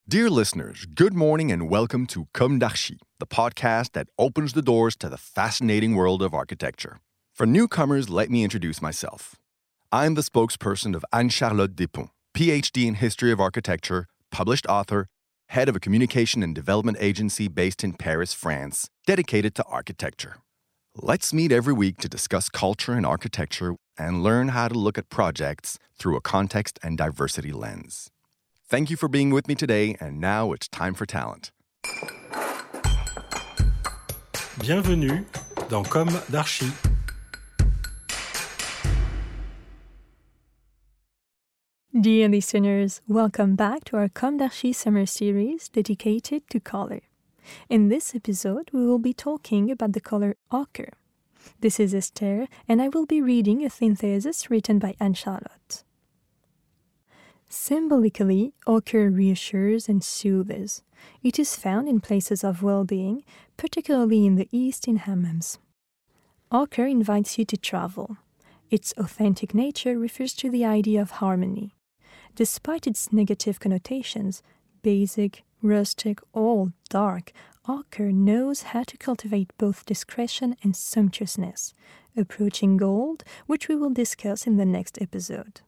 Dear listeners, good morning and welcome to Comme d'Archi, the podcast that opens the doors to the fascinating world of architecture. For newcomers, let me introduce myself. I'm the spokesperson of Anne-Charlotte Despont, PhD in History of Architecture, published author, head of a communication and development agency based in Paris, France, dedicated to architecture. Let's meet every week to discuss culture and architecture and learn how to look at projects through a context and diversity lens. Thank you for being with me today, and now it's time for talent. Bienvenue dans Comme d'Archi. Dear listeners, welcome back to our Comme d'Archi summer series dedicated to color. In this episode, we will be talking about the color ochre. This is Esther, and I will be reading a synthesis written by Anne-Charlotte. Symbolically, ochre reassures and soothes. It is found in places of well-being, particularly in the East in hammams. Ochre invites you to travel. Its authentic nature refers to the idea of harmony. Despite its negative connotations, basic, rustic, or dark, ochre knows how to cultivate both discretion and sumptuousness, approaching gold, which we will discuss in the next episode.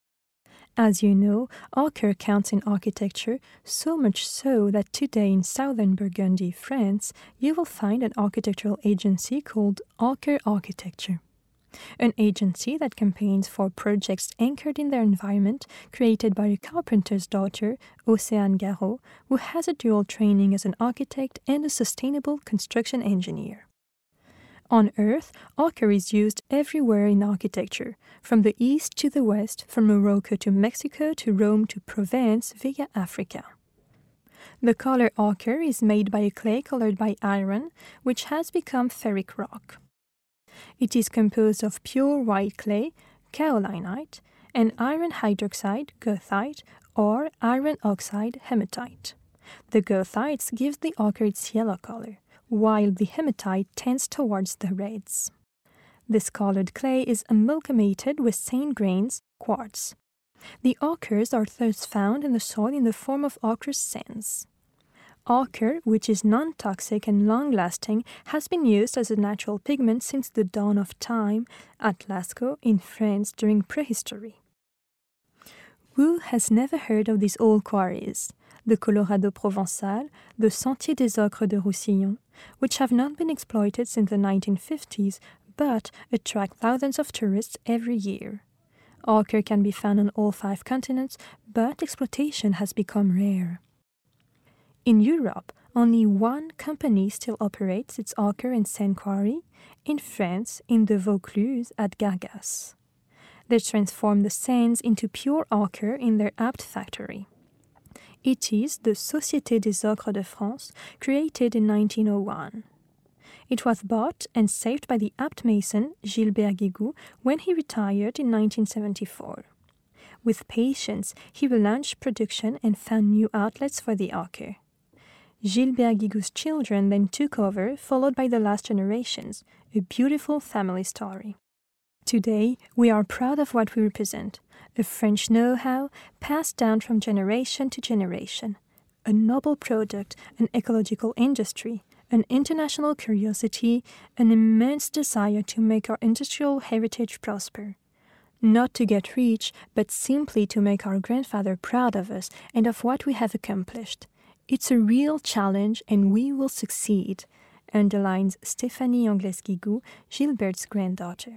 As you know, ochre counts in architecture, so much so that today in southern Burgundy, France, you will find an architectural agency called Ochre Architecture. An agency that campaigns for projects anchored in their environment, created by a carpenter's daughter, Océane Garot, who has a dual training as an architect and a sustainable construction engineer. On Earth, ochre is used everywhere in architecture, from the east to the west, from Morocco to Mexico to Rome to Provence via Africa. The color ochre is made by a clay colored by iron, which has become ferric rock. It is composed of pure white clay, kaolinite, and iron hydroxide, goethite, or iron oxide, hematite. The goethites give the ochre its yellow color, while the hematite tends towards the reds. This colored clay is amalgamated with sand grains, quartz. The ochres are thus found in the soil in the form of ochre sands. Ochre, which is non-toxic and long-lasting, has been used as a natural pigment since the dawn of time at Lascaux in France during prehistory. Who has never heard of these old quarries? The Colorado Provençal, the Sentier des Ocres de Roussillon, which have not been exploited since the 1950s, but attract thousands of tourists every year. Ochre can be found on all 5 continents, but exploitation has become rare. In Europe, only one company still operates its ochre and sand quarry, in France, in the Vaucluse at Gargas. They transform the sands into pure ochre in their Apt factory. It is the Société des Ocres de France, created in 1901. It was bought and saved by the Apt mason Gilbert Guigou when he retired in 1974. With patience, he relaunched production and found new outlets for the ochre. Gilbert Guigou's children then took over, followed by the last generations, a beautiful family story. Today, we are proud of what we represent, a French know-how passed down from generation to generation, a noble product, an ecological industry, an international curiosity, an immense desire to make our industrial heritage prosper. Not to get rich, but simply to make our grandfather proud of us and of what we have accomplished. It's a real challenge and we will succeed, underlines Stéphanie Angles-Guigou, Gilbert's granddaughter.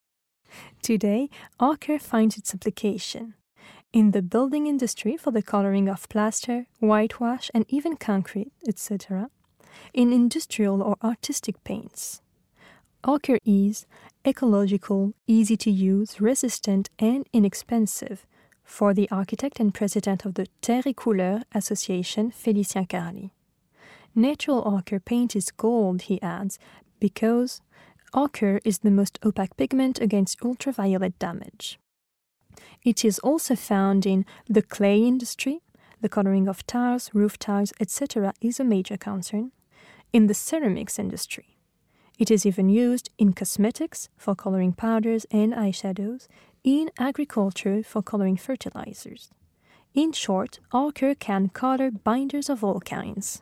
Today, ochre finds its application in the building industry for the coloring of plaster, whitewash, and even concrete, etc., in industrial or artistic paints. Ochre is ecological, easy to use, resistant, and inexpensive, for the architect and president of the Terre et Couleur Association, Félicien Carali. Natural ochre paint is gold, he adds, because ochre is the most opaque pigment against ultraviolet damage. It is also found in the clay industry. The coloring of tiles, roof tiles, etc. is a major concern. In the ceramics industry. It is even used in cosmetics for coloring powders and eyeshadows, in agriculture for coloring fertilizers. In short, ochre can color binders of all kinds.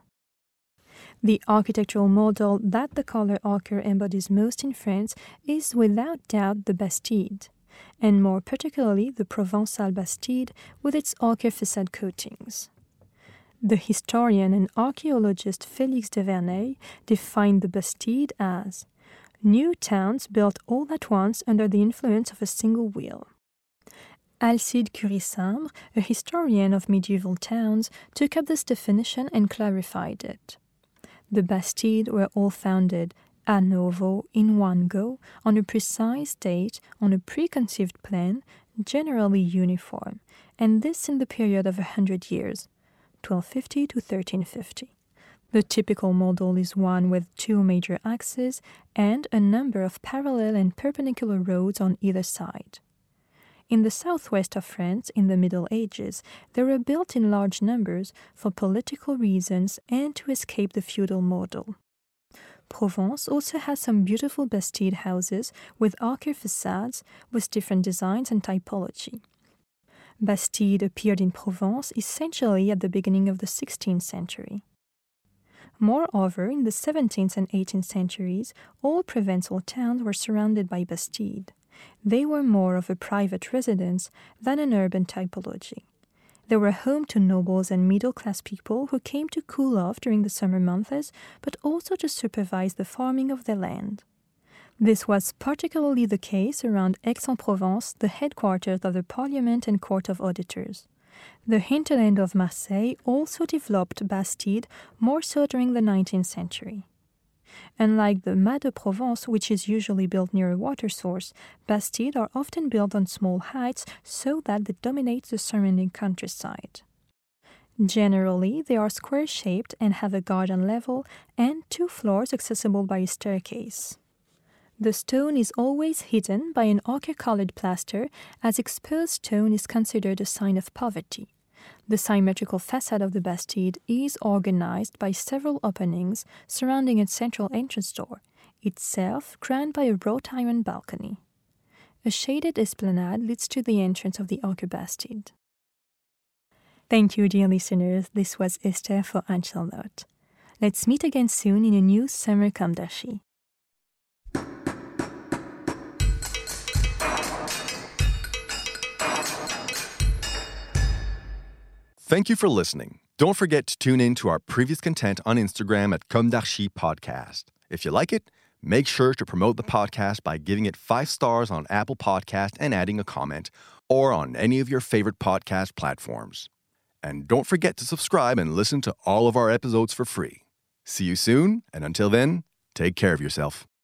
The architectural model that the color ochre embodies most in France is without doubt the Bastide, and more particularly the Provençal Bastide with its ochre facade coatings. The historian and archaeologist Félix de Verneuil defined the Bastide as new towns built all at once under the influence of a single wheel. Alcide Curie-Sambre, a historian of medieval towns, took up this definition and clarified it. The Bastide were all founded à novo, in one go, on a precise date, on a preconceived plan, generally uniform, and this in the period of 100 years, 1250 to 1350. The typical model is one with two major axes and a number of parallel and perpendicular roads on either side. In the southwest of France, in the Middle Ages, they were built in large numbers for political reasons and to escape the feudal model. Provence also has some beautiful Bastide houses with ochre facades with different designs and typology. Bastide appeared in Provence essentially at the beginning of the 16th century. Moreover, in the 17th and 18th centuries, all Provençal towns were surrounded by Bastide. They were more of a private residence than an urban typology. They were home to nobles and middle-class people who came to cool off during the summer months, but also to supervise the farming of their land. This was particularly the case around Aix-en-Provence, the headquarters of the Parliament and Court of Auditors. The hinterland of Marseille also developed Bastide more so during the 19th century. Unlike the Mas de Provence, which is usually built near a water source, Bastides are often built on small heights so that they dominate the surrounding countryside. Generally, they are square-shaped and have a garden level and 2 floors accessible by a staircase. The stone is always hidden by an ochre-colored plaster, as exposed stone is considered a sign of poverty. The symmetrical facade of the Bastide is organized by several openings surrounding its central entrance door, itself crowned by a wrought iron balcony. A shaded esplanade leads to the entrance of the ochre Bastide. Thank you, dear listeners. This was Esther for Ancelnote. Let's meet again soon in a new Summer Comme d'Archi. Thank you for listening. Don't forget to tune in to our previous content on Instagram at Comme d'Archi Podcast. If you like it, make sure to promote the podcast by giving it 5 stars on Apple Podcast and adding a comment, or on any of your favorite podcast platforms. And don't forget to subscribe and listen to all of our episodes for free. See you soon, and until then, take care of yourself.